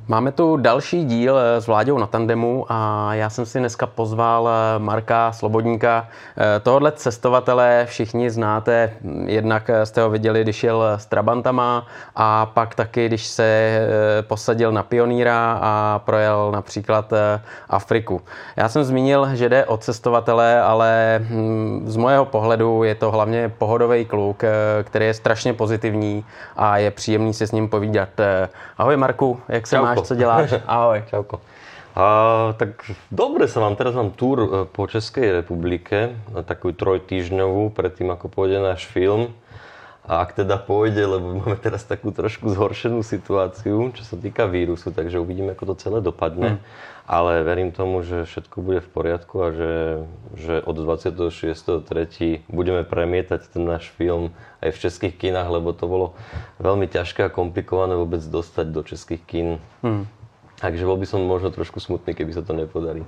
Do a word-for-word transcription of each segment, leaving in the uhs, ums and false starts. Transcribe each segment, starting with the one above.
Máme tu další díl s Vláďou na tandemu a já jsem si dneska pozval Marka Slobodníka. Tohodle cestovatele všichni znáte, jednak jste ho viděli, když jel s Trabantama a pak taky, když se posadil na Pionýra a projel například Afriku. Já jsem zmínil, že jde o cestovatele, ale z mého pohledu je to hlavně pohodový kluk, který je strašně pozitivní a je příjemný si s ním povídat. Ahoj Marku, jak se máš? Co děláš? Ahoj. Čauko. A, tak dobre sa mám, teraz mám túr po Českej republike, takú trojtýždňovú, predtým ako pôjde náš film. A ak teda pôjde, lebo máme teraz takú trošku zhoršenú situáciu, čo sa týka vírusu, takže uvidíme, ako to celé dopadne. Hmm. Ale verím tomu, že všetko bude v poriadku a že, že od dvadsiateho šiesteho tretieho budeme premietať ten náš film aj v českých kinách, lebo to bolo veľmi ťažké a komplikované vôbec dostať do českých kín. Hmm. Takže bol by som možno trošku smutný, keby sa to nepodarí.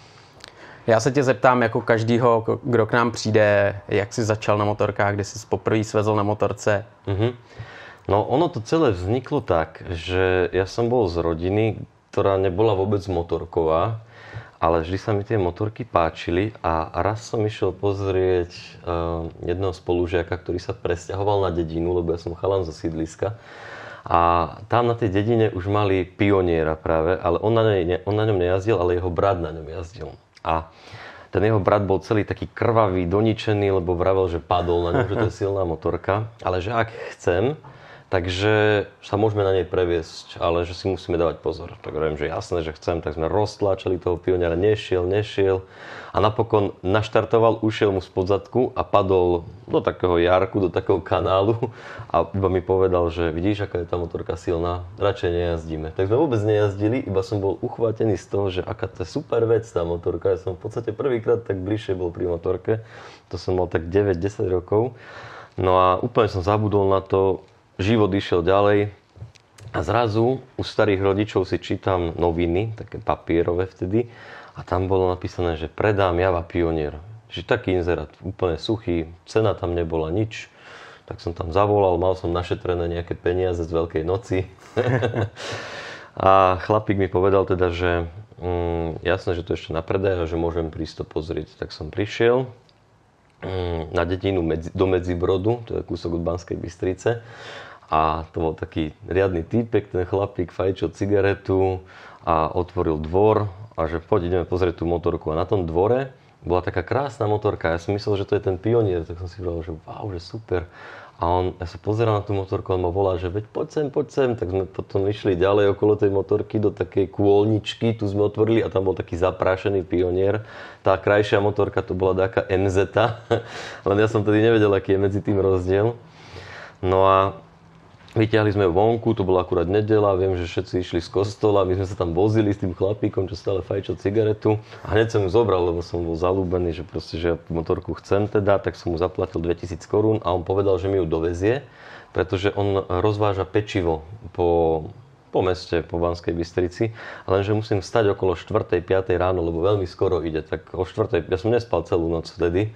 Já se tě zeptám jako každýho, kdo k nám přijde, jak jsi začal na motorkách, kdy jsi poprvé svezl na motorce? Mm-hmm. No ono to celé vzniklo tak, že ja som bol z rodiny, ktorá nebola vôbec motorková, ale vždy sa mi tie motorky páčili a raz som išiel pozrieť uh, jedného spolužiaka, ktorý sa presťahoval na dedinu, lebo ja som chalan zo sídliska. A tam na tej dedine už mali Pioniera práve, ale on na, ne, on na ňom nejazdil, ale jeho brat na ňom jazdil. A ten jeho brat bol celý taký krvavý, doničený, lebo vravel, že padol na ňom, že to je silná motorka. Ale že ak chcem, takže sa môžeme na nej previesť, ale že si musíme dávať pozor. Tak hovorím, že jasné, že chcem, tak sme roztlačili toho Pioniera, nešiel, nešiel. A napokon naštartoval, ušiel mu spod zadku a padol do takého jarku, do takého kanálu a iba mi povedal, že vidíš, aká je tá motorka silná, radšej nejazdíme. Tak sme vôbec nejazdili, iba som bol uchvátený z toho, že aká to je super vec tá motorka. Ja som v podstate prvýkrát tak bližšie bol pri motorke, to som mal tak deväť desať rokov. No a úplne som zabudol na to, život išiel ďalej a zrazu u starých rodičov si čítam noviny, také papierové vtedy, a tam bolo napísané, že predám Java Pionier. Že taký inzerát, úplne suchý, cena tam nebola nič. Tak som tam zavolal, mal som našetrené nejaké peniaze z Veľkej noci. A chlapík mi povedal teda, že mm, jasné, že to ešte na predaj a že môžem prísť to pozrieť. Tak som prišiel mm, na dedinu medzi, do Medzibrodu, to je kúsok od Banskej Bystrice. A to bol taký riadny týpek, ten chlapík fajčil cigaretu a otvoril dvor a že poď ideme pozrieť tú motorku. A na tom dvore bola taká krásna motorka. Ja som myslel, že to je ten Pionier, tak som si povedal, že wow, že super. A on, ja sa pozeral na tú motorku, on ma volá, že veď poď sem, poď sem. Tak sme potom išli ďalej okolo tej motorky do takej kôlničky, tu sme otvorili a tam bol taký zaprášený Pionier. Tá krajšia motorka to bola taká em zet, len ja som tedy nevedel, aký je medzi tým rozdiel. No a vyťahli sme ju vonku, to bola akurát nedeľa, viem, že všetci išli z kostola, my sme sa tam vozili s tým chlapíkom, čo stále fajčil cigaretu a hneď som ju zobral, lebo som bol zalúbený, že proste, že ja tú motorku chcem teda, tak som mu zaplatil dvetisíc korún a on povedal, že mi ju dovezie, pretože on rozváža pečivo po, po meste, po Banskej Bystrici, lenže musím vstať okolo štvrtej piatej ráno, lebo veľmi skoro ide, tak o štvrtej, ja som nespal celú noc vtedy.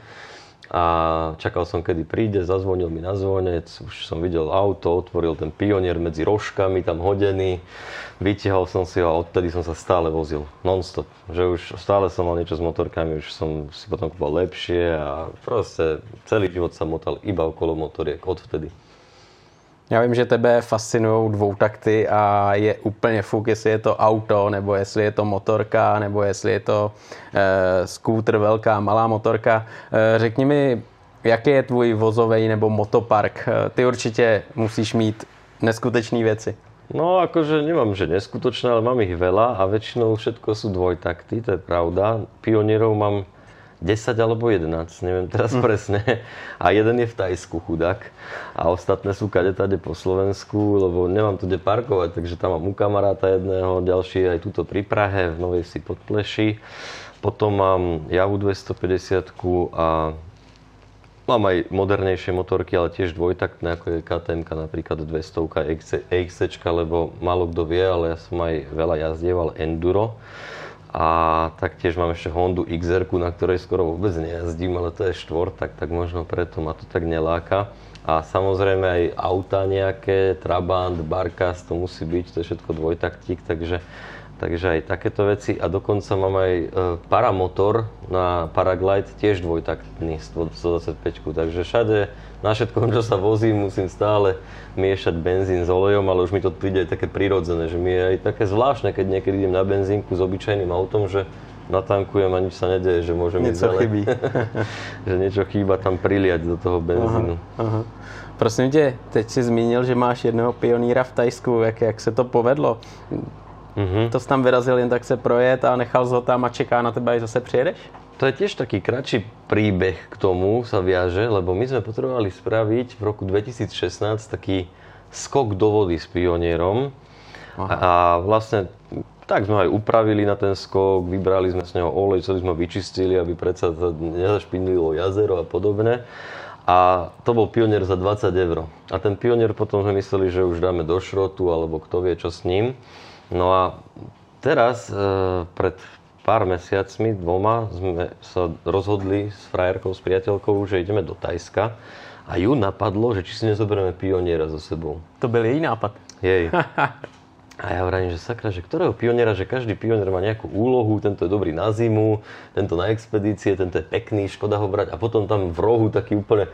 A čakal som, kedy príde, zazvonil mi na zvonec, už som videl auto, otvoril ten Pionier medzi rožkami tam hodený, vytiahol som si ho a odtedy som sa stále vozil, non-stop. Že už stále som mal niečo s motorkami, už som si potom kúpal lepšie a proste celý život sa motal iba okolo motoriek odvtedy. Já vím, že tebe fascinují dvoutakty a je úplně fuk, jestli je to auto, nebo jestli je to motorka, nebo jestli je to e, skútr, velká, malá motorka. E, řekni mi, jaký je tvůj vozovej nebo motopark? E, ty určitě musíš mít neskutečné věci. No akože nemám, že neskutočné, ale mám ich veľa a väčšinou všetko sú dvojtakty, to je pravda. Pionierov mám desať alebo jedenásť, neviem teraz mm. presne. A jeden je v Tajsku, chudák. A ostatné sú kadetade po Slovensku, lebo nemám tu kde parkovať, takže tam mám u kamaráta jedného, ďalší aj tuto pri Prahe, v Novej Vsi pod Pleší. Potom mám Javu dvestopäťdesiat a mám aj modernejšie motorky, ale tiež dvojtaktné, ako je ká té emka, napríklad dvesto é iks cé, lebo málo kto vie, ale ja som aj veľa jazdieval enduro. A taktiež mám ešte Hondu iks er, na ktorej skoro vôbec nejazdím, ale to je štvor, tak, tak možno preto ma to tak neláka. A samozrejme aj auta nejaké, Trabant, Barkas, to musí byť, to je všetko dvojtaktík, takže Takže aj takéto veci a dokonca mám aj e, paramotor na Paraglide, tiež dvojtaktný stodvadsaťpäť, takže všade na všetkom, čo sa vozím, musím stále miešať benzín s olejom, ale už mi to príde aj také prirodzené, že mi je aj také zvláštne, keď niekedy idem na benzínku s obyčajným autom, že natankujem a nič sa nedeje, že môžem ísť ďalej. Chybí. Že niečo chýba tam priliať do toho benzínu. Aha, aha. Prosím tě, teď si zmínil, že máš jednoho pionýra v Thajsku, jak, jak se to povedlo? Mm-hmm. To jsi tam vyrazil jen tak se projet a nechal ho tam a čeká na teba, až zase přijedeš? To je tiež taký kratší príbeh k tomu sa viaže, lebo my sme potrebovali spraviť v roku dvetisícšestnásť taký skok do vody s Pionierom. Aha. A vlastne tak sme aj upravili na ten skok, vybrali sme z neho olej, celý sme vyčistili, aby predsa nezašpinilo jazero a podobne. A to bol Pionier za dvadsať eur. A ten Pionier potom sme mysleli, že už dáme do šrotu, alebo kto vie čo s ním. No a teraz, e, pred pár mesiacmi, dvoma, sme sa rozhodli s frajerkou, s priateľkou, že ideme do Thajska. A ju napadlo, že či si nezoberieme Pioniera so sebou. To byl její nápad. Jej. A ja vravím, že sakra, že ktorého Pioniera, že každý Pionier má nejakú úlohu, tento je dobrý na zimu, tento na expedície, tento je pekný, škoda ho brať. A potom tam v rohu taký úplne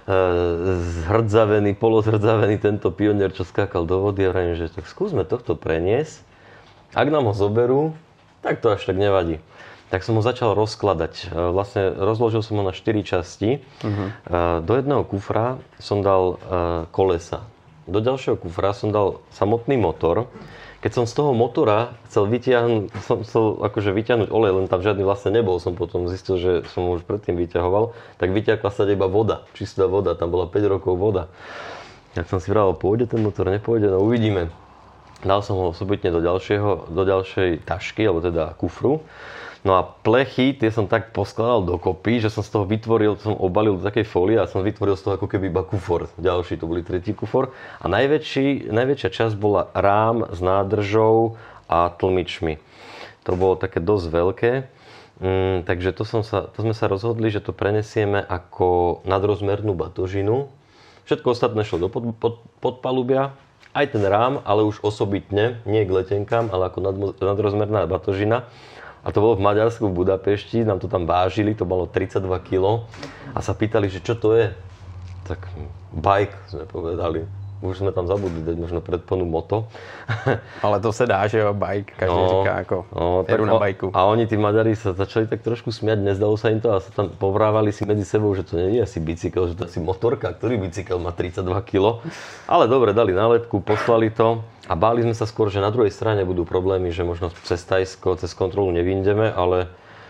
zhrdzavený, polozhrdzavený tento Pionier, čo skákal do vody, a vravím, že tak skúsme tohto preniesť. Ak nám ho zoberú, tak to až tak nevadí. Tak som ho začal rozkladať. Vlastne rozložil som ho na štyri časti. Uh-huh. Do jedného kufra som dal kolesa. Do ďalšieho kufra som dal samotný motor. Keď som z toho motora chcel vytiahnuť, som chcel akože vytiahnuť olej, len tam žiadny vlastne nebol, som potom zistil, že som ho už predtým vyťahoval, tak vyťahla sa iba voda, čistá voda, tam bola päť rokov voda. Tak som si vravel, pôjde ten motor, nepôjde, no uvidíme. Dal som ho osobitne do, ďalšieho, do ďalšej tašky, alebo teda kufru. No a plechy, tie som tak poskladal dokopy, že som z toho vytvoril, som obalil do takej fólie a som vytvoril z toho ako keby iba kufor. Ďalší, to boli tretí kufor. A najväčší, najväčšia časť bola rám s nádržou a tlmičmi. To bolo také dosť veľké. Mm, takže to, som sa, to sme sa rozhodli, že to prenesieme ako nadrozmernú batožinu. Všetko ostatné šlo do pod, pod, podpalubia. Aj ten rám, ale už osobitne, nie k letenkám, ale ako nad, nadrozmerná batožina. A to bolo v Maďarsku, v Budapešti, nám to tam vážili, to bolo tridsaťdva kilogramov a sa pýtali, že čo to je. Tak bike, sme povedali. Už sme tam zabudli dať možno predponu moto. Ale to se dá, že jo, bike, každý no, říká ako no, jedu na bajku. A oni, tí Maďari, sa začali tak trošku smiať, nezdalo sa im to a sa tam povrávali si medzi sebou, že to nie je asi bicykel, že to je asi motorka, ktorý bicykel má tridsaťdva kilogramov. Ale dobre, dali nálepku, poslali to a báli sme sa skôr, že na druhej strane budú problémy, že možno cez Thajsko, cez kontrolu nevyjdeme, ale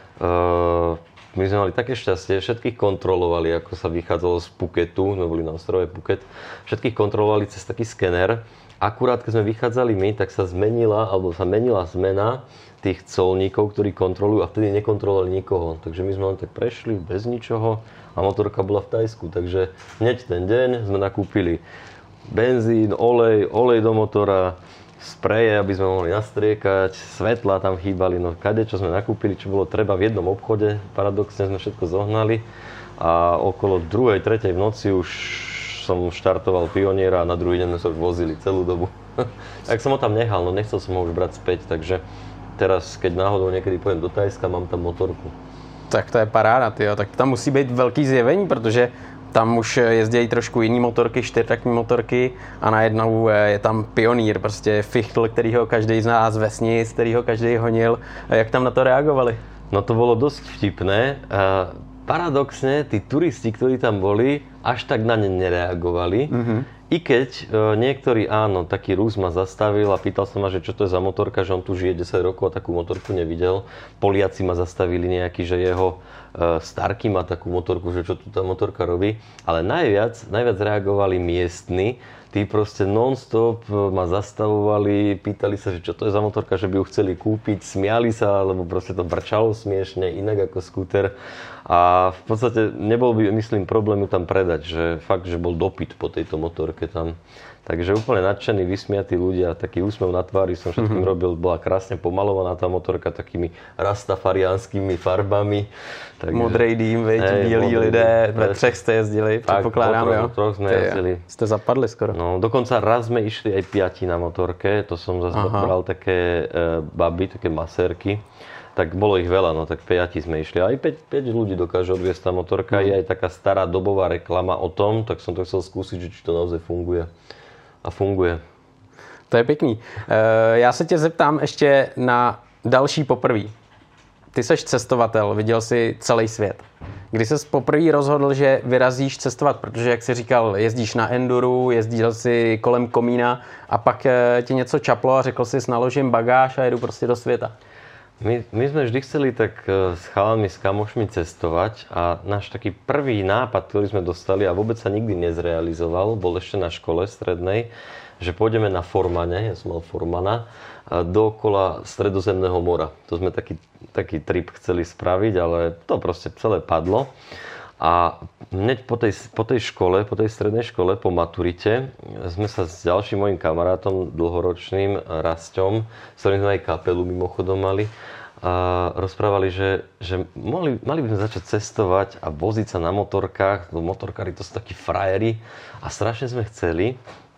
uh, my sme mali také šťastie, všetkých kontrolovali, ako sa vychádzalo z Phuketu, sme boli na ostrove Phuket, všetkých kontrolovali cez taký skener. Akurát, keď sme vychádzali my, tak sa zmenila, alebo sa menila zmena tých colníkov, ktorí kontrolujú a vtedy nekontrolovali nikoho. Takže my sme len tak prešli bez ničoho a motorka bola v Thajsku. Takže hneď ten deň sme nakúpili benzín, olej, olej do motora, spreje, aby sme mohli nastriekať, svetla tam chýbali, no kade, čo sme nakúpili, čo bolo treba v jednom obchode, paradoxne sme všetko zohnali a okolo druhej, tretej v noci už som štartoval Pioniera a na druhý deň sme sa už vozili celú dobu. Tak som ho tam nechal, no nechcel som ho už brať späť, takže teraz, keď náhodou niekedy pojem do Thajska, mám tam motorku. Tak to je paráda, tyjo. Tak tam musí být velký zjevení, protože tam už jezdějí trošku jiný motorky, čtyřtaktní motorky a najednou je tam Pionýr, prostě fichtl, kterýho každý z nás vesnic, kterýho každý honil. Jak tam na to reagovali? No to bolo dosť vtipné. Paradoxne, tí turisti, ktorí tam boli, až tak na ne nereagovali. Mm-hmm. I keď e, niektorí, áno, taký Rus ma zastavil a pýtal sa ma, že čo to je za motorka, že on tu žije desať rokov a takú motorku nevidel. Poliaci ma zastavili nejaký, že jeho e, starky má takú motorku, že čo tu tá motorka robí. Ale najviac, najviac reagovali miestni. Tí proste non-stop ma zastavovali, pýtali sa, že čo to je za motorka, že by ju chceli kúpiť, smiali sa, lebo proste to brčalo smiešne, inak ako skúter. A v podstate nebol by, myslím, problém ju tam predať, že fakt, že bol dopyt po tejto motorke tam. Takže úplne nadšení, vysmiatí ľudia, taký úsmev na tvári som všetkým mm-hmm. robil, bola krásne pomalovaná tá motorka takými rastafariánskymi farbami. Takže, modrej dým, veď, bílí lidé, ve třech jste jezdili, předpokládám, jo? Troch sme jezdili. Jste zapadli skoro. No, dokonca raz sme išli aj piati na motorke, to som zase bral také e, baby, také masérky. Tak bolo ich veľa, no tak piati sme išli. Aj päť, päť ľudí dokáže odviesť tá motorka. Mm. Je aj taká stará dobová reklama o tom, tak som to chcel skúsiť, že či to naozaj funguje. A funguje. To je pěkný. Já se tě zeptám ještě na další poprví. Ty seš cestovatel, viděl jsi celý svět. Kdy ses poprvé rozhodl, že vyrazíš cestovat, protože, jak jsi říkal, jezdíš na enduru, jezdil jsi kolem komína a pak ti něco čaplo a řekl jsi, naložím bagáž a jedu prostě do světa. My, my sme vždy chceli tak s chalami, s kamošmi cestovať a náš taký prvý nápad, ktorý sme dostali a vôbec sa nikdy nezrealizoval, bol ešte na škole strednej, že pôjdeme na Formane, ja som mal Formana, dookola Stredozemného mora. To sme taký, taký trip chceli spraviť, ale to proste celé padlo. A hneď po tej, po tej škole, po tej strednej škole, po maturite, sme sa s ďalším mojím kamarátom, dlhoročným Rasťom, s ktorým sme aj kapelu mimochodom mali, a rozprávali, že, že mali, mali by sme začať cestovať a voziť sa na motorkách. Motorkári to sú takí frajeri a strašne sme chceli,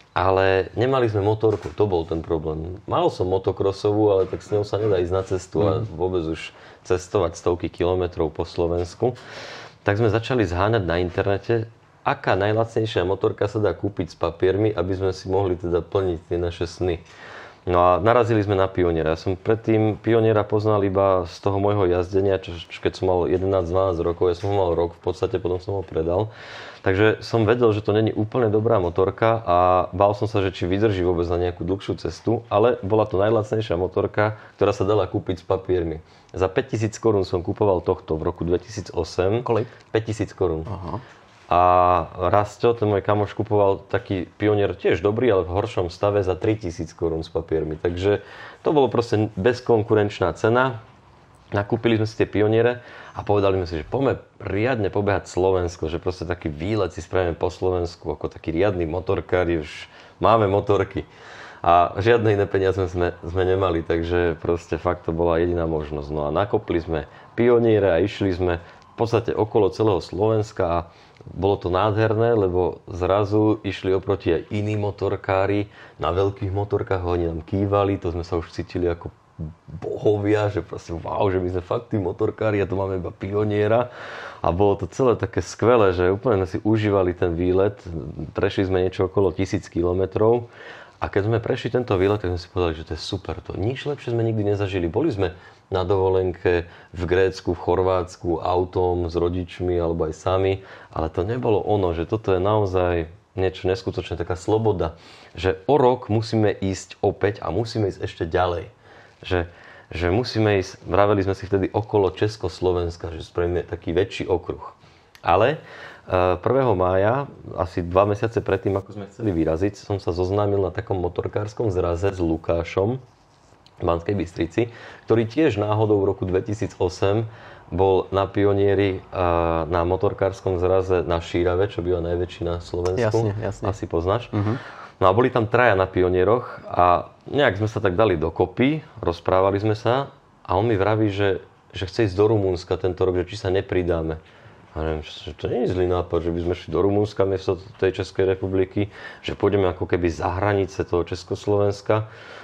ale nemali sme motorku, to bol ten problém. Mal som motokrosovú, ale tak s ňou sa nedá ísť na cestu a vôbec už cestovať stovky kilometrov po Slovensku. Tak sme začali zháňať na internete, aká najlacnejšia motorka sa dá kúpiť s papiermi, aby sme si mohli teda plniť tie naše sny. No a narazili sme na Pioniera. Ja som predtým Pioniera poznal iba z toho môjho jazdenia, čo, čo keď som mal jedenásť dvanásť rokov, ja som ho mal rok v podstate, potom som ho predal. Takže som vedel, že to není úplne dobrá motorka a bál som sa, že či vydrží vôbec na nejakú dlhšiu cestu, ale bola to najlacnejšia motorka, ktorá sa dala kúpiť s papiermi. Za päťtisíc korún som kupoval tohto v roku dvetisícosem. Kolik? päťtisíc korún. Aha. A Rasťo, ten môj kamoš, kupoval taký Pionier tiež dobrý, ale v horšom stave za tritisíc korún s papiermi. Takže to bolo proste bezkonkurenčná cena. Nakúpili sme si tie Pioniere a povedali sme si, že poďme riadne pobehať Slovensko, že proste taký výlet si spravíme po Slovensku, ako taký riadny motorkári, už máme motorky. A žiadne iné peniaze sme, sme nemali, takže proste fakt to bola jediná možnosť. No a nakopli sme Pioniere a išli sme v podstate okolo celého Slovenska a bolo to nádherné, lebo zrazu išli oproti aj iní motorkári na veľkých motorkách, oni nám kývali, to sme sa už cítili ako bohovia, že proste wow, že my sme fakt tí motorkári a tu máme iba Pioniera. A bolo to celé také skvelé, že úplne si užívali ten výlet, prešli sme niečo okolo tisíc kilometrov. A keď sme prešli tento výlet, tak sme si povedali, že to je super. To nič lepšie sme nikdy nezažili. Boli sme na dovolenke v Grécku, v Chorvátsku, autom s rodičmi alebo aj sami, ale to nebolo ono, že toto je naozaj niečo neskutočné, taká sloboda, že o rok musíme ísť opäť a musíme ísť ešte ďalej. Že, že musíme ísť, vraveli sme si vtedy okolo Československa, že spravíme taký väčší okruh. Ale prvého mája, asi dva mesiace predtým, ako sme chceli vyraziť, som sa zoznámil na takom motorkárskom zraze s Lukášom v Banskej Bystrici, ktorý tiež náhodou v roku dvetisícosem bol na Pionieri na motorkárskom zraze na Šírave, čo býva najväčší na Slovensku. Jasne, jasne. Asi poznáš. Uh-huh. No a boli tam traja na Pionieroch a nejak sme sa tak dali dokopy, rozprávali sme sa a on mi vraví, že, že chce ísť do Rumunska tento rok, že či sa nepridáme. A neviem, že to nie je zlý nápad, že by sme šli do Rumunska miesto tej Českej republiky, že pôjdeme ako keby za hranice toho Československa.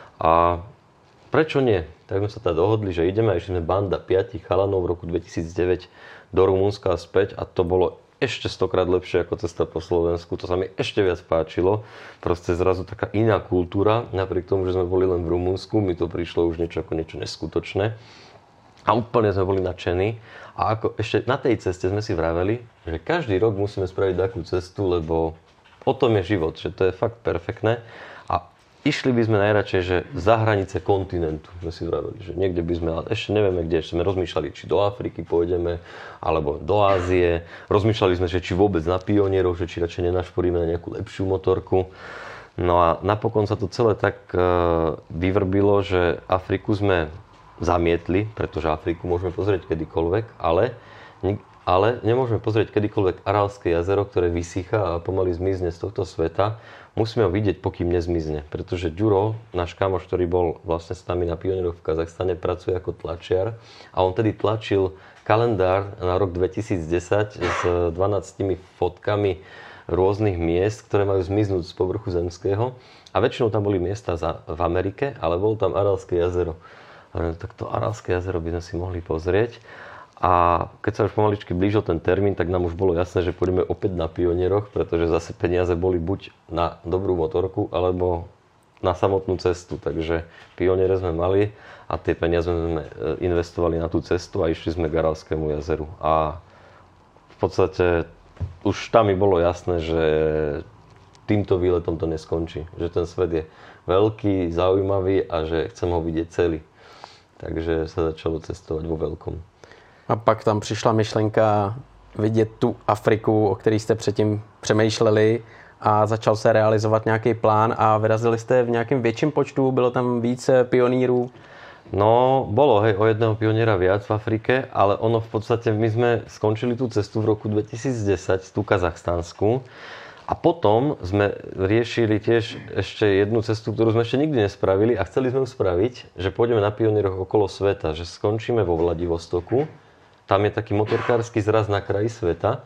A prečo nie? Tak sme sa teda dohodli, že ideme a išli sme banda piatich chalanov v roku dvetisícdeväť do Rumunska a späť a to bolo ešte stokrát lepšie ako cesta po Slovensku. To sa mi ešte viac páčilo. Proste zrazu taká iná kultúra, napriek tomu, že sme boli len v Rumunsku, mi to prišlo už niečo ako niečo neskutočné. A úplne sme boli nadšení. A ako ešte na tej ceste sme si vraveli, že každý rok musíme spraviť takú cestu, lebo o tom je život, že to je fakt perfektné. A išli by sme najradšej, že za hranice kontinentu, sme si vraveli, že niekde by sme, ale ešte nevieme kde, ešte sme rozmýšľali, či do Afriky pôjdeme, alebo do Ázie. Rozmýšľali sme, že či vôbec na Pionierov, že či radšej nenašporíme na nejakú lepšiu motorku. No a napokon sa to celé tak vyvrbilo, že Afriku sme zamietli, pretože Afriku môžeme pozrieť kedykoľvek, ale ale nemôžeme pozrieť kedykoľvek Aralské jazero, ktoré vysýcha a pomaly zmizne z tohto sveta. Musíme ho vidieť, pokým nezmizne, pretože Ďuro, náš kamoš, ktorý bol vlastne s nami na pionieroch v Kazachstane, pracuje ako tlačiar a on tedy tlačil kalendár na rok dvetisícdesať s dvanástimi fotkami rôznych miest, ktoré majú zmiznúť z povrchu zemského. A väčšinou tam boli miesta za, v Amerike, ale bolo tam Aralské jazero. A tak to Aralské jazero by sme si mohli pozrieť. A keď sa už pomaličky blížil ten termín, tak nám už bolo jasné, že pôjdeme opäť na pionieroch, pretože zase peniaze boli buď na dobrú motorku, alebo na samotnú cestu. Takže pioniere sme mali a tie peniaze sme investovali na tú cestu a išli sme k Aralskému jazeru. A v podstate už tam mi bolo jasné, že týmto výletom to neskončí. Že ten svet je veľký, zaujímavý a že chcem ho vidieť celý. Takže sa začalo cestovať vo veľkom. A pak tam přišla myšlenka vidět tu Afriku, o který jste předtím přemýšleli a začal se realizovat nějaký plán a vyrazili jste v nějakém větším počtu, bylo tam víc pionírů? No, bolo, hej, o jedného pioniera viac v Afrike, ale ono v podstate, my sme skončili tú cestu v roku dvetisícdesať, tú kazachstánsku, a potom sme riešili tiež ešte jednu cestu, ktorú sme ešte nikdy nespravili a chceli sme ju spraviť, že pôjdeme na pionieroch okolo sveta, že skončíme vo Vladivostoku, tam je taký motorkársky zraz na kraji sveta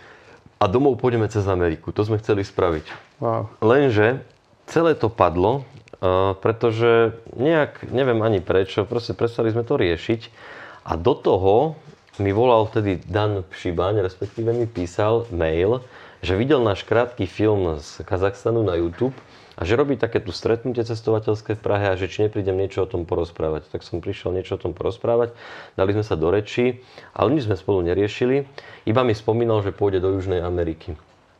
a domov pôjdeme cez Ameriku. To sme chceli spraviť. Wow. Lenže celé to padlo, Uh, pretože nejak, neviem ani prečo, proste prestali sme to riešiť a do toho mi volal vtedy Dan Pšibaň, respektíve mi písal mail, že videl náš krátky film z Kazachstanu na YouTube a že robí také tu stretnutie cestovateľské v Prahe a že či neprídem niečo o tom porozprávať. Tak som prišiel niečo o tom porozprávať, dali sme sa do rečí, ale nič sme spolu neriešili, iba mi spomínal, že pôjde do Južnej Ameriky.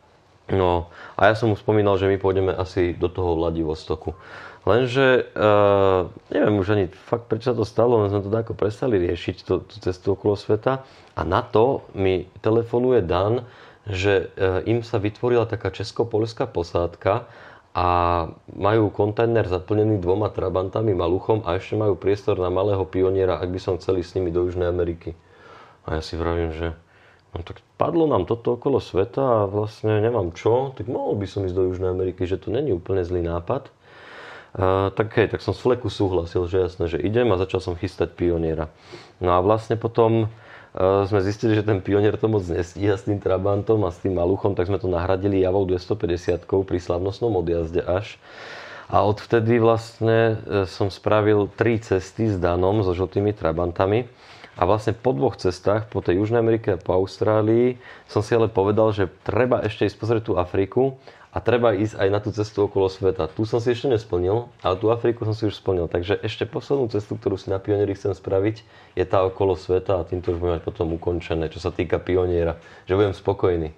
No a ja som mu spomínal, že my pôjdeme asi do toho Vladivostoku. Lenže, uh, neviem už ani fakt, prečo sa to stalo, len sme to ako prestali riešiť, tú cestu okolo sveta. A na to mi telefonuje Dan, že uh, im sa vytvorila taká česko-poľská posádka a majú kontajner zaplnený dvoma trabantami, maluchom a ešte majú priestor na malého pioniera, ak by som chceli s nimi do Južnej Ameriky. A ja si vravím, že no tak padlo nám toto okolo sveta a vlastne nemám čo, tak mohol by som ísť do Južnej Ameriky, že to není úplne zlý nápad. Uh, tak hej, tak som z fleku súhlasil, že jasné, že idem a začal som chystať pioniera. No a vlastne potom uh, sme zistili, že ten pionier to moc nestíha s tým Trabantom a s tým maluchom, tak sme to nahradili javou dvestopäťdesiatkou pri slavnostnom odjazde až. A odvtedy vlastne som spravil tri cesty s Danom, so žltými Trabantami. A vlastne po dvoch cestách, po tej Južnej Amerike a po Austrálii, som si ale povedal, že treba ešte ísť pozrieť tú Afriku a treba ísť aj na tú cestu okolo sveta. Tu som si ešte nesplnil, ale tú Afriku som si už splnil. Takže ešte poslednú cestu, ktorú si na pionieri chcem spraviť, je tá okolo sveta a týmto už budem mať potom ukončené, čo sa týka pioniera, že budem spokojný.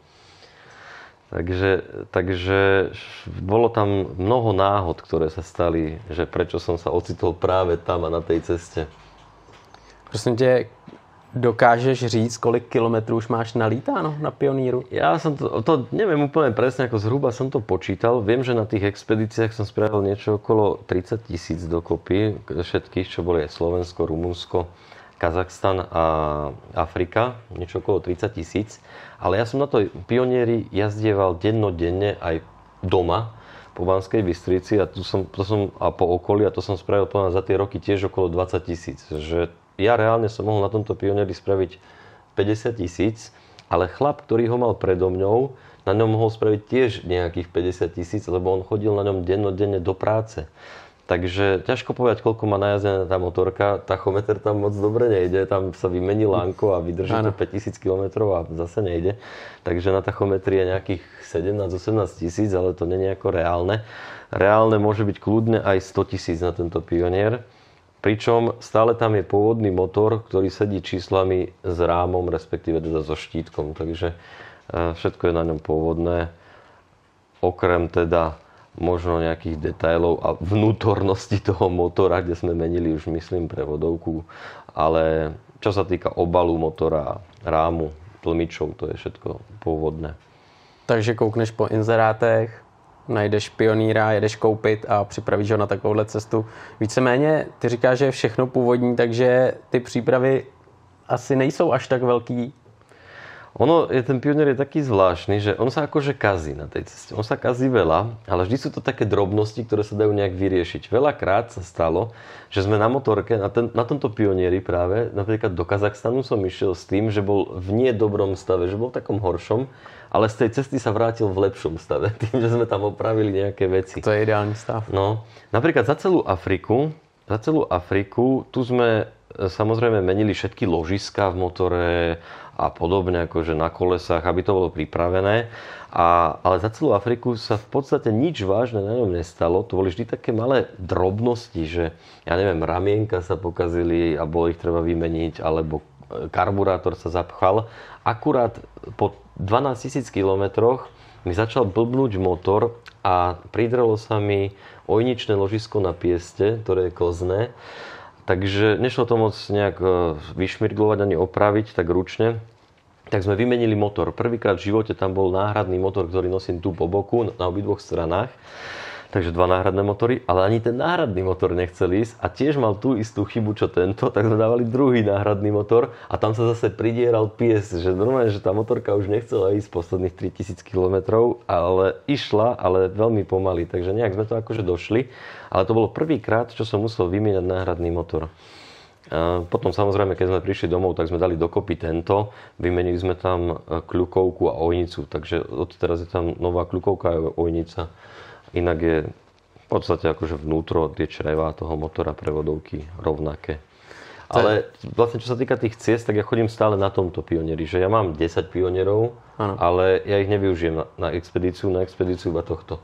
Takže, takže bolo tam mnoho náhod, ktoré sa stali, že prečo som sa ocitol práve tam a na tej ceste. Prosím tě, dokážeš říct, kolik kilometrů už máš nalítáno na pioníru? Ja som to, to neviem úplne presne, ako zhruba som to počítal. Viem, že na tých expedíciách som spravil niečo okolo tridsať tisíc dokopy, všetkých, čo boli aj Slovensko, Rumunsko, Kazachstan a Afrika, niečo okolo tridsať tisíc. Ale ja som na to pionieri jazdieval dennodenne aj doma po Banskej Bystrici a, tu som, to som, a po okolí a to som spravil povedal, za tie roky tiež okolo dvadsať tisíc. Že ja reálne som mohol na tomto pionieri spraviť päťdesiat tisíc, ale chlap, ktorý ho mal predo mňou, na ňom mohol spraviť tiež nejakých päťdesiat tisíc, lebo on chodil na ňom dennodenne do práce. Takže ťažko povedať, koľko má najazdená tá motorka. Tachometer tam moc dobre nejde, tam sa vymení lánko a vydrží to päťtisíc kilometrov a zase nejde. Takže na tachometri je nejakých sedemnásť osemnásť tisíc, ale to nie je nejako reálne. Reálne môže byť kľudne aj sto tisíc na tento pionier. Pričom stále tam je pôvodný motor, ktorý sedí číslami s rámom, respektíve teda so štítkom. Takže všetko je na ňom pôvodné. Okrem teda možno nejakých detailov a vnútornosti toho motora, kde sme menili už myslím prevodovku. Ale čo sa týka obalu motora, rámu, tlmičov, to je všetko pôvodné. Takže koukneš po inzerátech, najdeš pioníra, jedeš koupit a připravíš ho na takovouhle cestu. Víceméně ty říkáš, že je všechno původní, takže ty přípravy asi nejsou až tak velký. Ono, je, ten Pionier je taký zvláštny, že on sa akože kazí na tej ceste. On sa kazí veľa, ale vždy sú to také drobnosti, ktoré sa dajú nejak vyriešiť. Veľakrát sa stalo, že sme na motorke, na, ten, na tomto Pionieri práve, napríklad do Kazachstanu som išiel s tým, že bol v nie dobrom stave, že bol v takom horšom, ale z tej cesty sa vrátil v lepšom stave, tým, že sme tam opravili nejaké veci. To je ideálny stav. No, napríklad za celú Afriku, za celú Afriku, tu sme samozrejme menili všetky ložiská v motore a podobne, akože na kolesách, aby to bolo pripravené. A, ale za celú Afriku sa v podstate nič vážne na ňom nestalo. To boli vždy také malé drobnosti, že ja neviem, ramienka sa pokazili a bolo ich treba vymeniť, alebo karburátor sa zapchal. Akurát po dvanásťtisíc kilometroch mi začal blbnúť motor a pridrelo sa mi ojničné ložisko na pieste, ktoré je kozné. Takže nešlo to moc nejak vyšmirglovať ani opraviť tak ručne. Tak sme vymenili motor. Prvýkrát v živote tam bol náhradný motor, ktorý nosím tu po boku na obidvoch stranách. Takže dva náhradné motory, ale ani ten náhradný motor nechcel ísť a tiež mal tú istú chybu, čo tento, tak sme dávali druhý náhradný motor a tam sa zase pridieral pies, že normálne, že tá motorka už nechcela ísť posledných tritisíc kilometrov, ale išla, ale veľmi pomaly, takže nejak sme to akože došli, ale to bolo prvýkrát, čo som musel vymieňať náhradný motor. A potom samozrejme, keď sme prišli domov, tak sme dali dokopy tento, vymenili sme tam kľukovku a ojnicu, takže odteraz je tam nová kľukovka a ojnica. Inak je v podstate akože vnútro tie črevá toho motora prevodovky rovnaké. Ale vlastne čo sa týka tých ciest, tak ja chodím stále na tomto Pionieri, že ja mám desať Pionierov, ano. Ale ja ich nevyužijem na, na expedíciu, na expedíciu iba tohto.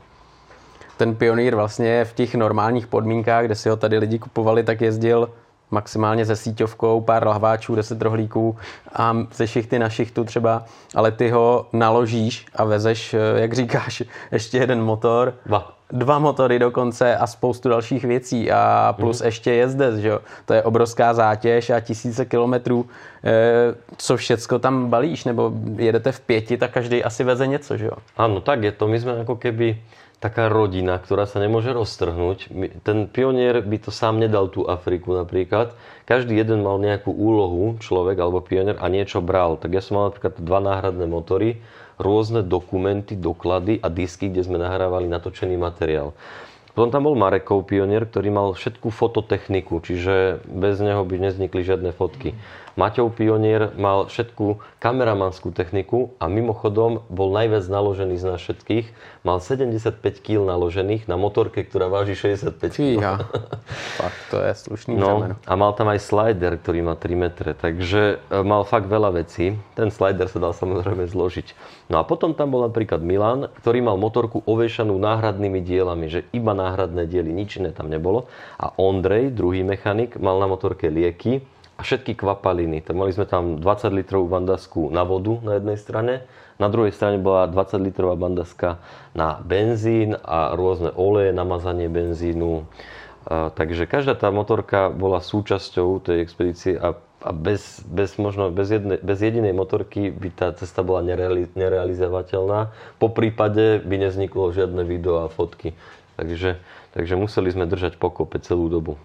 Ten Pionier vlastně v těch normálních podmínkách, kde si ho tady lidi kupovali, tak jezdil maximálně se síťovkou, pár lahváčů, deset rohlíků a ze šichty na šichtu třeba, ale ty ho naložíš a vezeš, jak říkáš, ještě jeden motor, dva, dva motory dokonce a spoustu dalších věcí a plus mm. ještě jezdec, že jo. To je obrovská zátěž a tisíce kilometrů, e, co všecko tam balíš, nebo jedete v pěti, tak každý asi veze něco, že jo. Áno, tak je to. My sme ako keby taká rodina, ktorá sa nemôže roztrhnúť. Ten Pionier by to sám nedal tú Afriku napríklad. Každý jeden mal nejakú úlohu, človek alebo Pionier, a niečo bral. Tak ja som mal napríklad dva náhradné motory, rôzne dokumenty, doklady a disky, kde sme nahrávali natočený materiál. Potom tam bol Marekov Pionier, ktorý mal všetku fototechniku, čiže bez neho by nevznikli žiadne fotky. Maťov Pionier mal všetku kameramanskú techniku a mimochodom bol najviac naložený z nás všetkých. Mal sedemdesiatpäť kíl naložených na motorke, ktorá váži šesťdesiatpäť kíl. Fíha. Fakt, to je slušný no, břemeno. A mal tam aj slider, ktorý má tri metre, takže mal fakt veľa vecí. Ten slider sa dal samozrejme zložiť. No a potom tam bol napríklad Milan, ktorý mal motorku ovešanú náhradnými dielami, že iba náhradné diely, nič iné tam nebolo. A Ondrej, druhý mechanik, mal na motorke lieky a všetky kvapaliny. Mali sme tam dvadsať litrov bandasku na vodu na jednej strane, na druhej strane bola dvadsať litrová bandaska na benzín a rôzne oleje, namazanie benzínu. A, takže každá tá motorka bola súčasťou tej expedície a, a bez, bez, možno, bez, jedne, bez jedinej motorky by tá cesta bola nereali, nerealizovateľná. Po prípade by nevzniklo žiadne video a fotky. Takže, takže museli sme držať pokope celú dobu.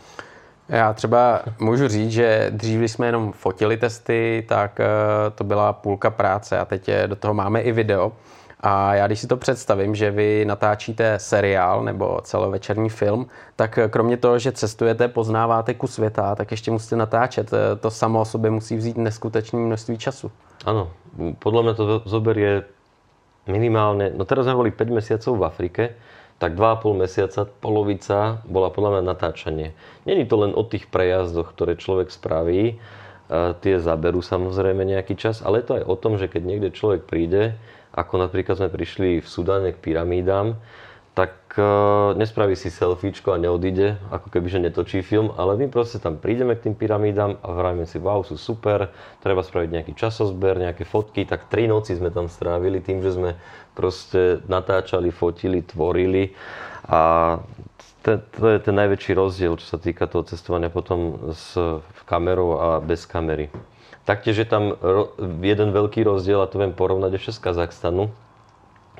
Já třeba můžu říct, že dřív, když jsme jenom fotili testy, tak to byla půlka práce a teď do toho máme i video. A já když si to představím, že vy natáčíte seriál nebo celovečerní film, tak kromě toho, že cestujete, poznáváte kus světa, tak ještě musíte natáčet. To samo o sobě musí vzít neskutečné množství času. Áno, podľa mňa to zoberie minimálne, no teraz sme boli päť mesiacov v Afrike, tak dva a pol mesiaca, polovica bola podľa mňa natáčanie. Není to len o tých prejazdoch, ktoré človek spraví, tie zaberú samozrejme nejaký čas, ale je to aj o tom, že keď niekde človek príde, ako napríklad sme prišli v Sudáne k pyramídám, tak nespraví si selfiečko a neodíde, ako keby že netočí film, ale my proste tam prídeme k tým pyramídám a vravíme si, wow, sú super, treba spraviť nejaký časozber, nejaké fotky, tak tri noci sme tam strávili tým, že sme proste natáčali, fotili, tvorili a to, to je ten najväčší rozdiel, čo sa týka toho cestovania potom s kamerou a bez kamery. Taktiež je tam jeden veľký rozdiel a to viem porovnať ešte z Kazachstanu. Keď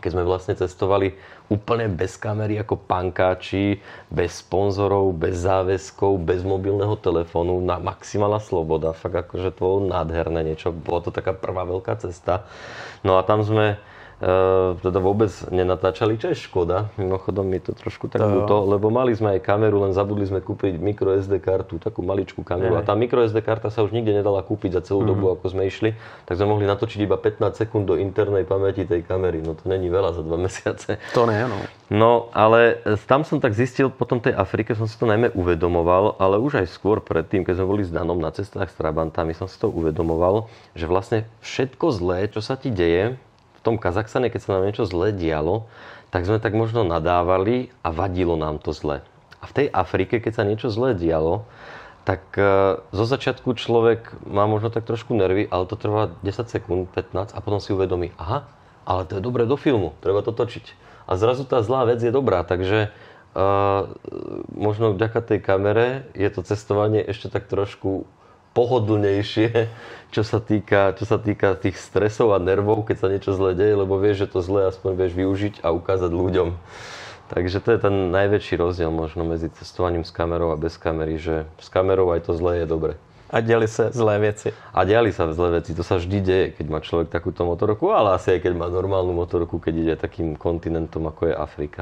keď sme vlastne cestovali úplne bez kamery ako pankáči, bez sponzorov, bez záväzkov, bez mobilného telefónu, na maximálna sloboda. Fakt akože to bolo nádherné niečo. Bola to taká prvá veľká cesta. No a tam sme Uh, teda vôbec nenatáčali, čo je škoda. Mimochodom mi to trošku tak ľúto, lebo mali sme aj kameru, len zabudli sme kúpiť micro es dé kartu, takú maličkú kameru. A tá micro es dé karta sa už nikde nedala kúpiť za celú mm. dobu, ako sme išli. Tak sme mohli natočiť iba pätnásť sekúnd do internej pamäti tej kamery. No to není veľa za dva mesiace. To ne, no. No, ale tam som tak zistil, potom tej Afrike som si to najmä uvedomoval, ale už aj skôr predtým, keď sme boli s Danom na cestách s Trabantami, som si to uvedomoval, že vlastne všetko zlé, čo sa ti deje v tom Kazachstane, keď sa nám niečo zlé dialo, tak sme tak možno nadávali a vadilo nám to zle. A v tej Afrike, keď sa niečo zlé dialo, tak zo začiatku človek má možno tak trošku nervy, ale to trvá desať sekúnd, pätnásť a potom si uvedomí, aha, ale to je dobré do filmu, treba to točiť. A zrazu tá zlá vec je dobrá, takže uh, možno vďaka tej kamere je to cestovanie ešte tak trošku pohodlnejšie, čo sa týka, čo sa týka tých stresov a nervov, keď sa niečo zle deje, lebo vieš, že to zle aspoň vieš využiť a ukázať ľuďom. Takže to je ten najväčší rozdiel možno medzi cestovaním s kamerou a bez kamery, že s kamerou aj to zlé je dobre. A diali sa zlé veci. A diali sa zlé veci. To sa vždy deje, keď má človek takúto motorku, ale asi aj keď má normálnu motorku, keď ide takým kontinentom, ako je Afrika.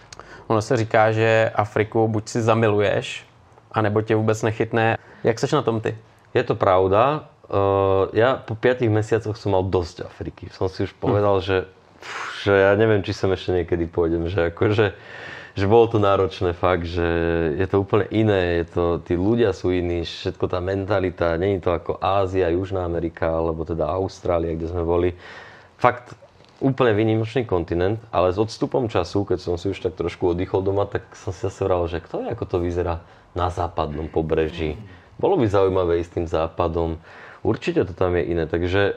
Ono se říká, že Afriku buď si zamiluješ, anebo tě vůbec nechytne. Jak seš na tom ty? Je to pravda. Uh, ja po piatich mesiacoch som mal dosť Afriky. Som si už povedal, hm. že, že ja neviem, či sem ešte niekedy pôjdem. Že, akože, že bolo to náročné fakt, že je to úplne iné. Je to, tí ľudia sú iní, všetko tá mentalita. Nie je to ako Ázia, Južná Amerika, alebo teda Austrália, kde sme boli. Fakt úplne výnimočný kontinent, ale s odstupom času, keď som si už tak trošku oddychol doma, tak som si zase vral, že kto je, ako to vyzerá na západnom pobreží. Bolo by zaujímavé ísť tým západom. Určite to tam je iné. Takže e,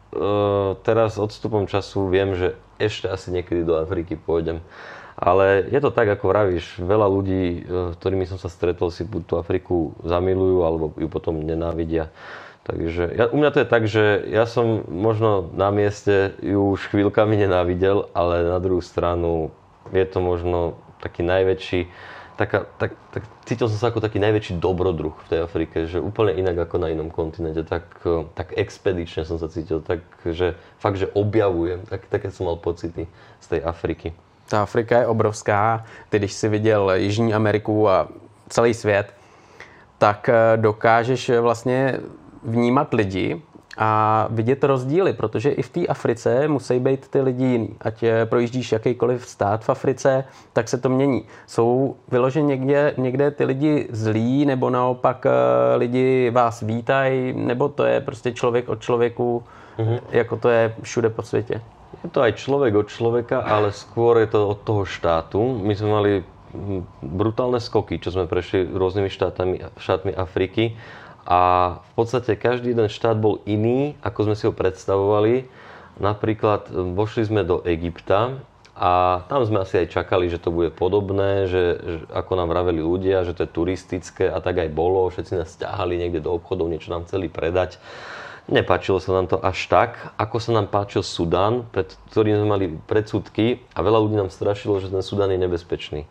teraz odstupom času viem, že ešte asi niekedy do Afriky pôjdem. Ale je to tak, ako vravíš. Veľa ľudí, e, s ktorými som sa stretol, si buď tú Afriku zamilujú, alebo ju potom nenávidia. Takže ja, u mňa to je tak, že ja som možno na mieste ju už chvíľkami nenávidel, ale na druhú stranu je to možno taký najväčší Taká, tak, tak, cítil som sa ako taký najväčší dobrodruh v tej Afrike, že úplne inak ako na inom kontinente, tak, tak expedične som sa cítil, tak, že fakt, že objavujem, tak, také som mal pocity z tej Afriky. Ta Afrika je obrovská, ty když si viděl Jižní Ameriku a celý svět, tak dokážeš vlastně vnímat lidi a vidět rozdíly, protože i v té Africe musí být ty lidi jiný. Ať projíždíš jakýkoliv stát v Africe, tak se to mění. Jsou vyloženě někde, někde ty lidi zlí, nebo naopak lidi vás vítají, nebo to je prostě člověk od člověku, mm-hmm. jako to je všude po světě. Je to aj človek od človeka, ale skôr je to od toho štátu. My sme mali brutálne skoky, čo sme prešli rôznymi štátami, štátmi Afriky. A v podstate každý jeden štát bol iný, ako sme si ho predstavovali. Napríklad vošli sme do Egypta a tam sme asi aj čakali, že to bude podobné, že, že ako nám vraveli ľudia, že to je turistické a tak aj bolo. Všetci nás ťahali niekde do obchodov, niečo nám chceli predať. Nepáčilo sa nám to až tak, ako sa nám páčil Sudán, pred ktorým sme mali predsudky a veľa ľudí nám strašilo, že ten Sudán je nebezpečný.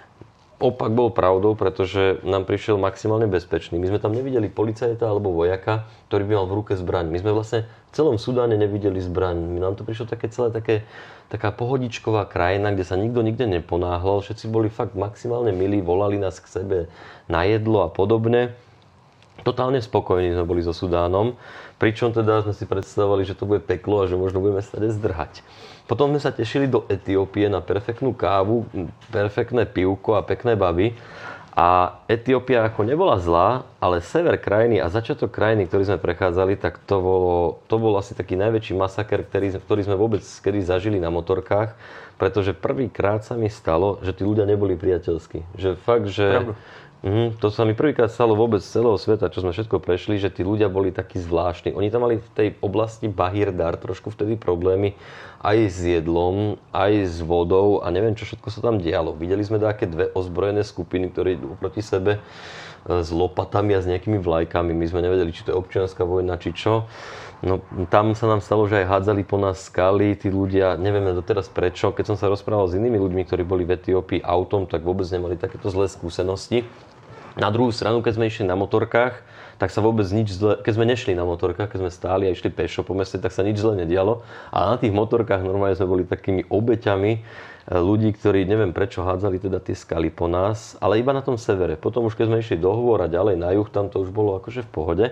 Opak bol pravdou, pretože nám prišiel maximálne bezpečný. My sme tam nevideli policajta alebo vojaka, ktorý by mal v ruke zbraň. My sme vlastne v celom Sudáne nevideli zbraň. Nám to prišlo také celé také, taká pohodičková krajina, kde sa nikto nikde neponáhľal. Všetci boli fakt maximálne milí, volali nás k sebe na jedlo a podobne. Totálne spokojní sme boli so Sudánom, pričom teda sme si predstavovali, že to bude peklo a že možno budeme sa zdrhať. Potom sme sa tešili do Etiópie na perfektnú kávu, perfektné pivko a pekné baby. A Etiópia ako nebola zlá, ale sever krajiny a začiatok krajiny, ktorý sme prechádzali, tak to bolo, to bol asi taký najväčší masaker, ktorý, ktorý sme vôbec kedy zažili na motorkách, pretože prvýkrát sa mi stalo, že tí ľudia neboli priateľskí. Že fakt, že... Pravdu. Mm, to sa mi prvýkrát stalo vôbec z celého sveta, čo sme všetko prešli, že tí ľudia boli takí zvláštni. Oni tam mali v tej oblasti Bahir Dar trošku vtedy problémy aj s jedlom, aj s vodou a neviem, čo všetko sa tam dialo. Videli sme také dve ozbrojené skupiny, ktoré idú proti sebe s lopatami a s nejakými vlajkami. My sme nevedeli, či to je občianska vojna, či čo. No, tam sa nám stalo, že aj hádzali po nás skaly, tí ľudia, nevieme doteraz prečo. Keď som sa rozprával s inými ľuďmi, ktorí boli v Etiópii autom, tak vôbec nemali takéto zlé skúsenosti. Na druhú stranu, keď sme išli na motorkách, tak sa vôbec nič zle, keď sme nešli na motorkách, keď sme stáli a išli pešo po meste, tak sa nič zle nedialo. A na tých motorkách normálne sme boli takými obeťami ľudí, ktorí neviem prečo hádzali teda tie skaly po nás, ale iba na tom severe. Potom už keď sme išli do hôr a ďalej na juh, tam to už bolo akože v pohode.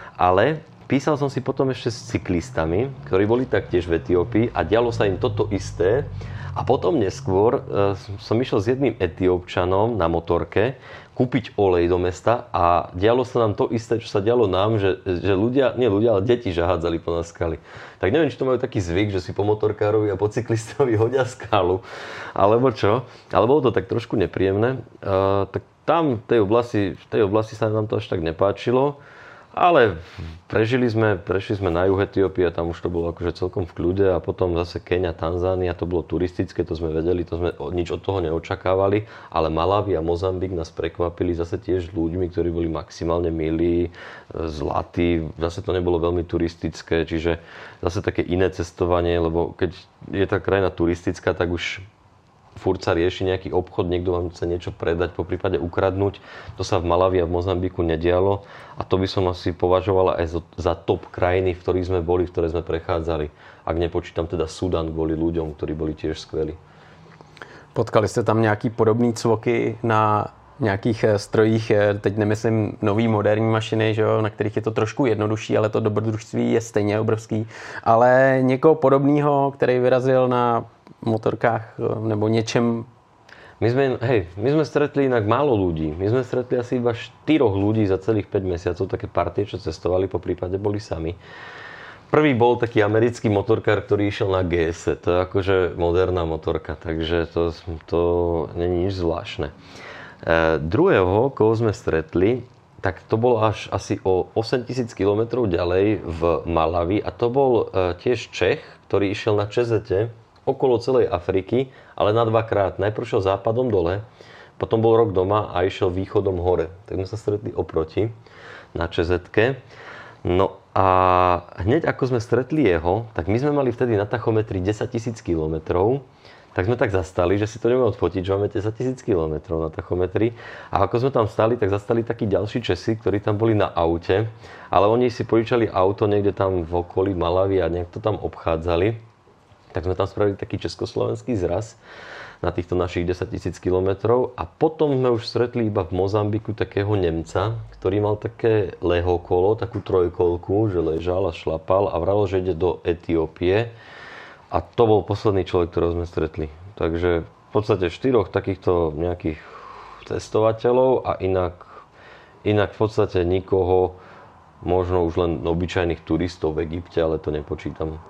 Ale písal som si potom ešte s cyklistami, ktorí boli taktiež v Etiópii a dialo sa im toto isté. A potom neskôr e, som išiel s jedným Etiópčanom na motorke kúpiť olej do mesta a dialo sa nám to isté, čo sa dialo nám, že, že ľudia, nie ľudia, ale deti, že hádzali po nás skaly. Tak neviem, či to majú taký zvyk, že si po motorkárovi a po cyklistovi hodia skalu, alebo čo. Ale bolo to tak trošku nepríjemné. E, tak tam v tej oblasti, v tej oblasti sa nám to až tak nepáčilo. Ale prežili sme, prešli sme na juh Etiópie a tam už to bolo akože celkom v kľude a potom zase Keňa, Tanzánia, to bolo turistické, to sme vedeli, to sme nič od toho neočakávali, ale Malawi a Mozambik nás prekvapili zase tiež ľuďmi, ktorí boli maximálne milí, zlatí, zase to nebolo veľmi turistické, čiže zase také iné cestovanie, lebo keď je tá krajina turistická, tak už furt sa rieši nejaký obchod, niekto vám chce niečo predať, po prípade ukradnúť. To sa v Malawi a v Mozambiku nedialo a to by som asi považovala aj za top krajiny, v ktorých sme boli, v ktoré sme prechádzali. Ak nepočítam teda Sudan kvôli ľuďom, ktorí boli tiež skvelí. Potkali jste tam nějaký podobný cvoky na nějakých strojích, teď nemyslím nový moderní mašiny, že jo, na kterých je to trošku jednodušší, ale to dobrodružství je stejně obrovský, ale někoho podobného, který vyrazil na motorkách nebo něčem. My sme, hej, my sme stretli inak málo ľudí. My sme stretli asi iba štyroch ľudí za celých päť mesiacov, také partie, čo cestovali, po prípade boli sami. Prvý bol taký americký motorkár, ktorý išiel na gé es. To je akože moderná motorka, takže to, to není nič zvláštne. E, druhého, koho sme stretli, tak to bolo až asi o osemtisíc kilometrov ďalej v Malawi a to bol e, tiež Čech, ktorý išiel na čezete okolo celej Afriky, ale na dvakrát. Najprv šiel západom dole, potom bol rok doma a išiel východom hore. Tak sme sa stretli oproti na čezetke. No a hneď ako sme stretli jeho, tak my sme mali vtedy na tachometri desaťtisíc kilometrov, tak sme tak zastali, že si to nemohli odfotiť, že máme desaťtisíc kilometrov na tachometri. A ako sme tam stali, tak zastali takí ďalší Česi, ktorí tam boli na aute, ale oni si požičali auto niekde tam v okolí Malawi a nejak to tam obchádzali. Tak sme tam spravili taký československý zraz na týchto našich desaťtisíc kilometrov a potom sme už stretli iba v Mozambiku takého Nemca, ktorý mal také lehokolo, takú trojkolku, že ležal a šlapal a vravil, že ide do Etiópie a to bol posledný človek, ktorého sme stretli. Takže v podstate štyroch takýchto nejakých cestovateľov a inak, inak v podstate nikoho, možno už len obyčajných turistov v Egypte, ale to nepočítam.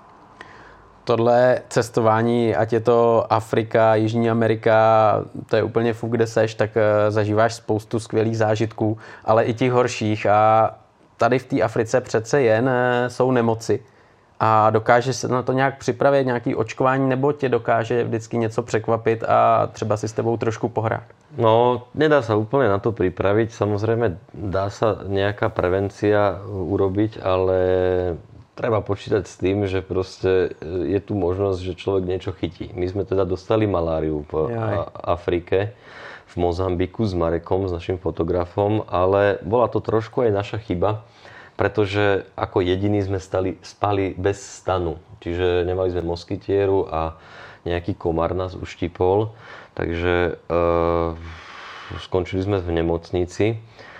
Tohle cestování, ať je to Afrika, Jižní Amerika, to je úplně fuk, kde seš, tak zažíváš spoustu skvělých zážitků, ale i těch horších. A tady v té Africe přece jen jsou nemoci. A dokáže se na to nějak připravit, nějaký očkování, nebo tě dokáže vždycky něco překvapit a třeba si s tebou trošku pohrát? No, nedá sa úplne na to pripraviť. Samozrejme, dá sa nejaká prevencia urobiť, ale treba počítať s tým, že proste je tu možnosť, že človek niečo chytí. My sme teda dostali maláriu v Jaj. Afrike, v Mozambiku s Marekom, s našim fotografom, ale bola to trošku aj naša chyba, pretože ako jediní sme stali, spali bez stanu. Čiže nemali sme moskytieru a nejaký komár nás uštipol, takže e, skončili sme v nemocnici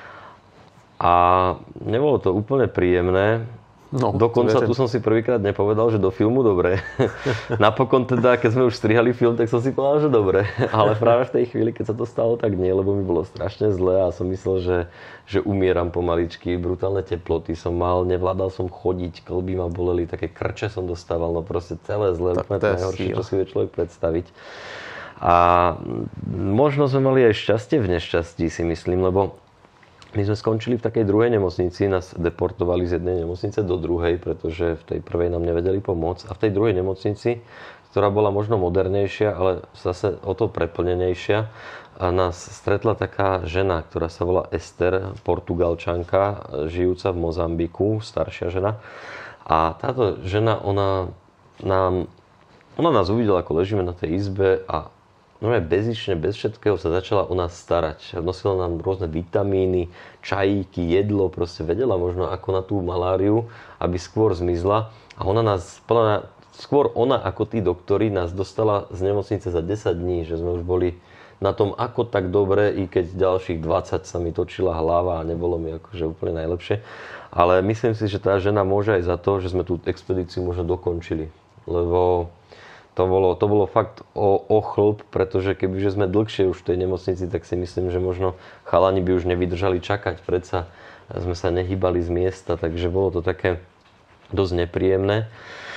a nebolo to úplne príjemné. No, dokonca tu som si prvýkrát nepovedal, že do filmu dobre. Napokon teda, keď sme už strihali film, tak som si povedal, že dobre. Ale práve v tej chvíli, keď sa to stalo, tak nie, lebo mi bolo strašne zle a som myslel, že, že umieram pomaličky. Brutálne teploty som mal, nevládal som chodiť, kĺby ma boleli, také krče som dostával, no proste celé zle, úplne to najhoršie, čo si vie človek predstaviť. A možno sme mali aj šťastie v nešťastí, si myslím, lebo my sme skončili v takej druhej nemocnici, nás deportovali z jednej nemocnice do druhej, pretože v tej prvej nám nevedeli pomôcť. A v tej druhej nemocnici, ktorá bola možno modernejšia, ale zase o to preplnenejšia, a nás stretla taká žena, ktorá sa volá Ester, Portugalčanka, žijúca v Mozambiku, staršia žena. A táto žena, ona, nám, ona nás uvidela, ako ležíme na tej izbe a no aj bezične, bez všetkého sa začala o nás starať. Nosila nám rôzne vitamíny, čajíky, jedlo, proste vedela možno ako na tú maláriu, aby skôr zmizla. A ona nás, skôr ona ako tí doktori nás dostala z nemocnice za desať dní, že sme už boli na tom ako tak dobre, i keď ďalších dvadsať sa mi točila hlava a nebolo mi akože úplne najlepšie. Ale myslím si, že tá žena môže aj za to, že sme tú expedíciu možno dokončili. Lebo To bolo, to bolo fakt o, o chlb, pretože kebyže sme dlhšie už v tej nemocnici, tak si myslím, že možno chalani by už nevydržali čakať. Predsa sme sa nehýbali z miesta, takže bolo to také dosť nepríjemné.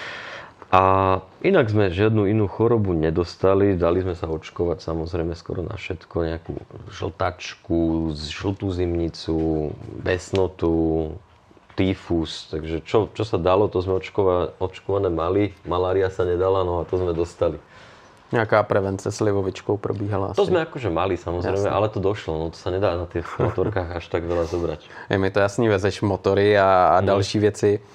A inak sme žiadnu inú chorobu nedostali. Dali sme sa očkovať samozrejme skoro na všetko. Nejakú žltačku, žltú zimnicu, besnotu, tyfus, takže čo, čo sa dalo, to sme očkova, očkované mali, malária sa nedala, no a to sme dostali. Nejaká prevence slivovičkou probíhala asi. To sme akože mali samozrejme, jasne. Ale to došlo, no to sa nedá na tých motorkách až tak veľa zobrať. Je mi to jasný, vezeš motory a, a hmm. další věci. E,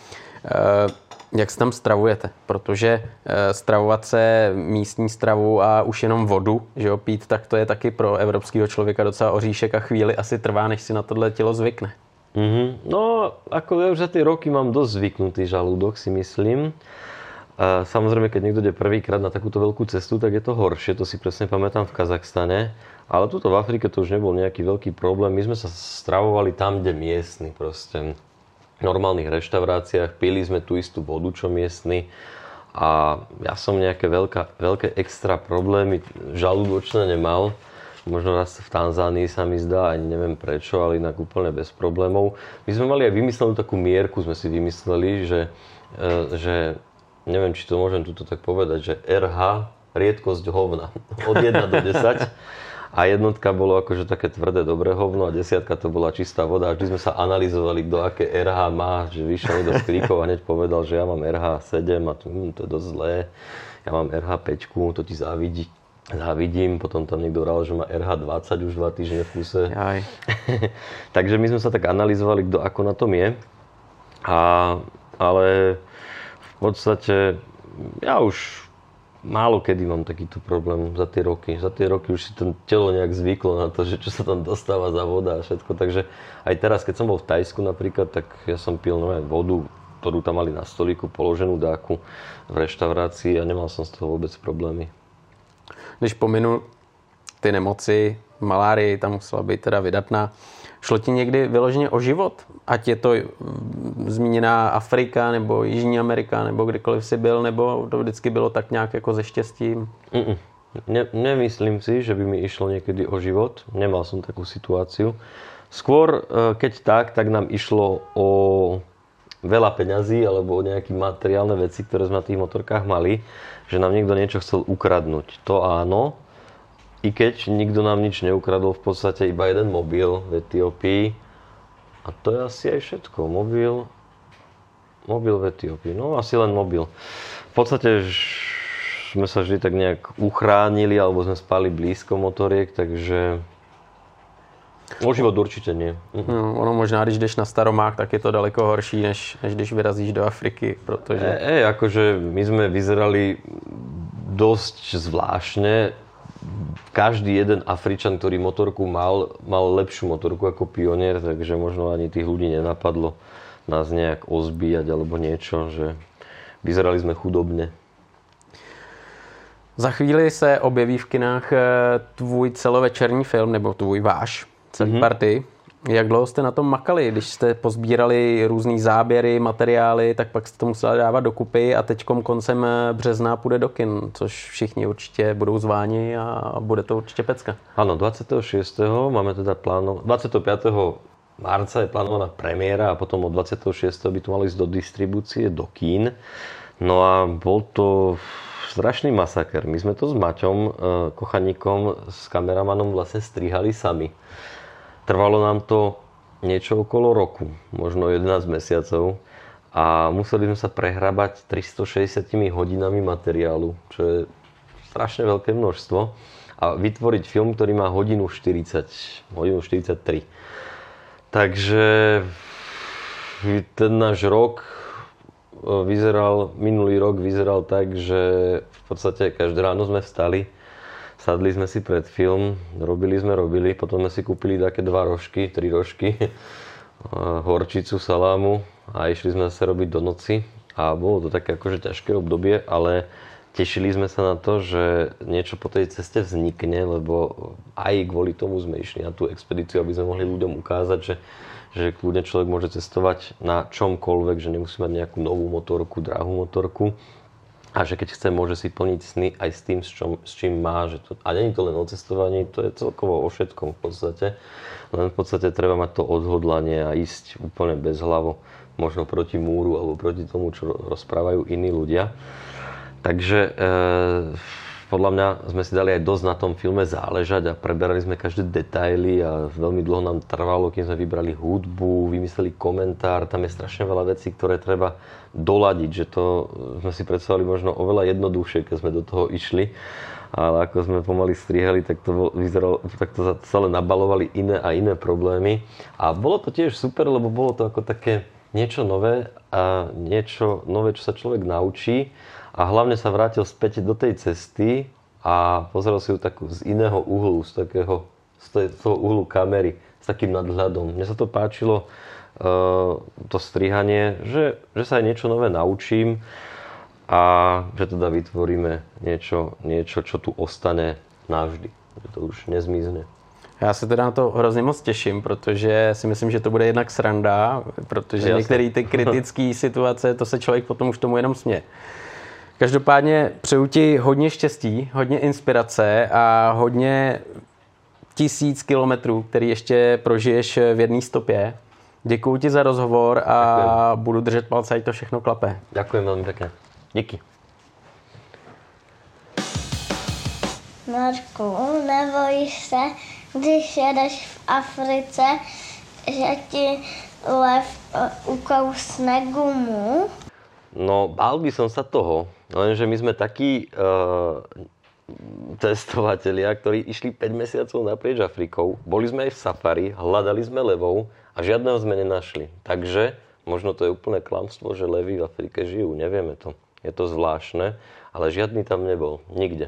jak se tam stravujete? Protože e, stravovat se místní stravu a už jenom vodu, že jo, pít, tak to je taky pro evropského člověka docela oříšek a chvíli asi trvá, než si na tohle tělo zvykne. Mm-hmm. No, ako ja už za tie roky mám dosť zvyknutý žalúdok, si myslím. A samozrejme, keď niekto ide prvýkrát na takúto veľkú cestu, tak je to horšie, to si presne pamätám v Kazachstane. Ale tuto v Afrike to už nebol nejaký veľký problém. My sme sa stravovali tam, kde miestni, proste v normálnych reštauráciách. Pili sme tú istú vodu, čo miestni. A ja som nejaké veľká, veľké extra problémy žalúdočné nemal. Možno raz v Tanzánii sa mi zdá, ani neviem prečo, ale inak úplne bez problémov. My sme mali aj vymyslenú takú mierku, sme si vymysleli, že, že neviem, či to môžem tuto tak povedať, že er há, riedkosť hovna, od jeden do desať. A jednotka bolo akože také tvrdé, dobré hovno a desiatka to bola čistá voda. A vždy sme sa analyzovali, kto aké er há má, že vyšiel niekto z kríkov a hneď povedal, že ja mám er há sedem a to, hm, to je dosť zlé. Ja mám er há päť, to ti závidí. Závidím, potom tam niekto vral, že má er há dvadsať už dva týždne v kuse. Takže my sme sa tak analyzovali, kto ako na tom je. A, ale v podstate ja už málo kedy mám takýto problém za tie roky. Za tie roky už si to telo nejak zvyklo na to, že čo sa tam dostáva za voda a všetko. Takže aj teraz, keď som bol v Thajsku napríklad, tak ja som pil nové vodu, ktorú tam mali na stolíku, položenú dáku v reštaurácii a nemal som z toho vôbec problémy. Když pominu ty nemoci, malárii, tam musela být teda vydatná, šlo ti někdy vyloženě o život? Ať je to zmíněná Afrika, nebo Jižní Amerika, nebo kdekoliv si byl, nebo to vždycky bylo tak nějak jako se štěstím? Mm-mm. Ne, nemyslím si, že by mi išlo niekedy o život. Nemal som takú situáciu. Skôr, keď tak, tak nám išlo o veľa peňazí alebo o nejaké materiálne veci, ktoré sme na tých motorkách mali, že nám niekto niečo chcel ukradnúť. To áno, i keď nikto nám nič neukradol, v podstate iba jeden mobil v Etiópii. A to je asi aj všetko. Mobil, mobil v Etiópii. No asi len mobil. V podstate sme sa vždy tak nejak uchránili, alebo sme spali blízko motoriek, takže o život určitě nie. No, ono možná, když jdeš na Staromák, tak je to daleko horší, než, než když vyrazíš do Afriky, protože... E, e, akože my sme vyzerali dosť zvláštne. Každý jeden Afričan, ktorý motorku mal, mal lepšiu motorku ako Pionier, takže možno ani tých ľudí nenapadlo nás nejak ozbíjať alebo niečo, že vyzerali sme chudobne. Za chvíli se objeví v kinách tvůj celovečerní film, nebo tvůj váš, celý mm-hmm. party. Jak dlouho jste na tom makali? Když jste pozbírali různý záběry, materiály, tak pak jste to museli dávat dokupy a teďkom koncem března půjde do kin, což všichni určitě budou zváni a bude to určitě pecka. Áno, dvadsiateho šiesteho máme teda plánov... dvadsiateho piateho marca je plánovaná premiéra a potom od dvadsiateho šiesteho by to malo ísť do distribúcie, do kín. No a bol to strašný masaker. My sme to s Maťom e, Kochaníkom, s kameramanom vlastne strihali sami. Trvalo nám to niečo okolo roku, možno jedenásť mesiacov a museli sme sa prehrabať tristošesťdesiat hodinami materiálu, čo je strašne veľké množstvo a vytvoriť film, ktorý má hodinu štyridsať, hodinu štyridsaťtri. Takže ten náš rok vyzeral, minulý rok vyzeral tak, že v podstate každé ráno sme vstali, sadli sme si pred film, robili sme, robili, potom sme si kúpili také dva rožky, tri rožky, horčicu, salámu a išli sme zase robiť do noci a bolo to také akože ťažké obdobie, ale tešili sme sa na to, že niečo po tej ceste vznikne, lebo aj kvôli tomu sme išli na tú expedíciu, aby sme mohli ľuďom ukázať, že že kľudne človek môže cestovať na čomkoľvek, že nemusí mať nejakú novú motorku, drahú motorku a že keď chce, môže si plniť sny aj s tým, s, čom, s čím má. Že to, a nie je to len o cestovaní, to je celkovo o všetkom v podstate. Len v podstate treba mať to odhodlanie a ísť úplne bezhlavo, možno proti múru alebo proti tomu, čo rozprávajú iní ľudia. Takže e, podľa mňa sme si dali aj dosť na tom filme záležať a preberali sme každé detaily a veľmi dlho nám trvalo, kým sme vybrali hudbu, vymysleli komentár. Tam je strašne veľa vecí, ktoré treba doladiť, že to sme si predstavili možno oveľa jednoduchšie, keď sme do toho išli. Ale ako sme pomaly strihali, tak to vyzeralo, tak to celé nabalovali iné a iné problémy. A bolo to tiež super, lebo bolo to ako také niečo nové a niečo nové, čo sa človek naučí. A hlavne sa vrátil späť do tej cesty a pozrel si ju takú z iného uhlu, z takého, z toho uhlu kamery, s takým nadhľadom. Mne sa to páčilo, to strihanie, že, že sa aj niečo nové naučím a že teda vytvoríme niečo, niečo, čo tu ostane navždy. Že to už nezmizne. Já se teda na to hrozně moc těším, protože si myslím, že to bude jednak sranda, protože některé ty kritické situace, to se člověk potom už tomu jenom směje. Každopádně přeju ti hodně štěstí, hodně inspirace a hodně tisíc kilometrů, který ještě prožiješ v jedné stopě. Děkuju ti za rozhovor a Ďakujem. Budu držet palce, ať to všechno klape. Ďakujem veľmi pekne. Díky. Marku, nebojíš se, když jedeš v Africe, že ti lev ukousne gumu? No, bál by som sa toho, lenže my sme takí uh, testovatelia, ktorí išli päť mesiacov naprieč Afrikou. Boli sme aj v safari, hľadali sme levov a žiadneho sme nenašli. Takže možno to je úplné klamstvo, že levy v Afrike žijú. Nevieme to. Je to zvláštne, ale žiadny tam nebol. Nikde.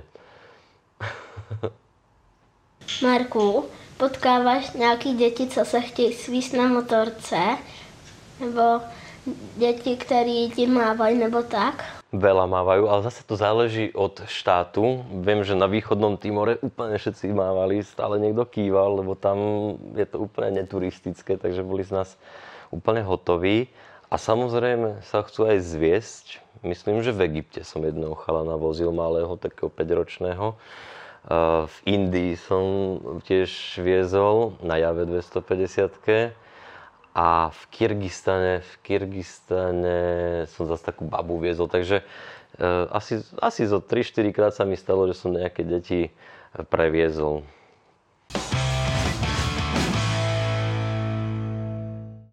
Marku, potkáváš nějaký děti, co se chtějí svíst na motorce? Nebo děti, které ti mávajú, nebo tak? Veľa mávajú, ale zase to záleží od štátu. Viem, že na východnom Timore úplne všetci mávali, stále niekto kýval, lebo tam je to úplne neturistické, takže boli z nás úplne hotoví. A samozrejme sa chcú aj zviesť. Myslím, že v Egypte som jedného chalana vozil malého, takého päťročného. V Indii som tiež viezol na Jave dvestopäťdesiatke. A v Kyrgyzstane, v Kyrgyzstane som zase takú babu viezol, takže e, asi, asi zo tri štyri krát sa mi stalo, že som nejaké deti previezol.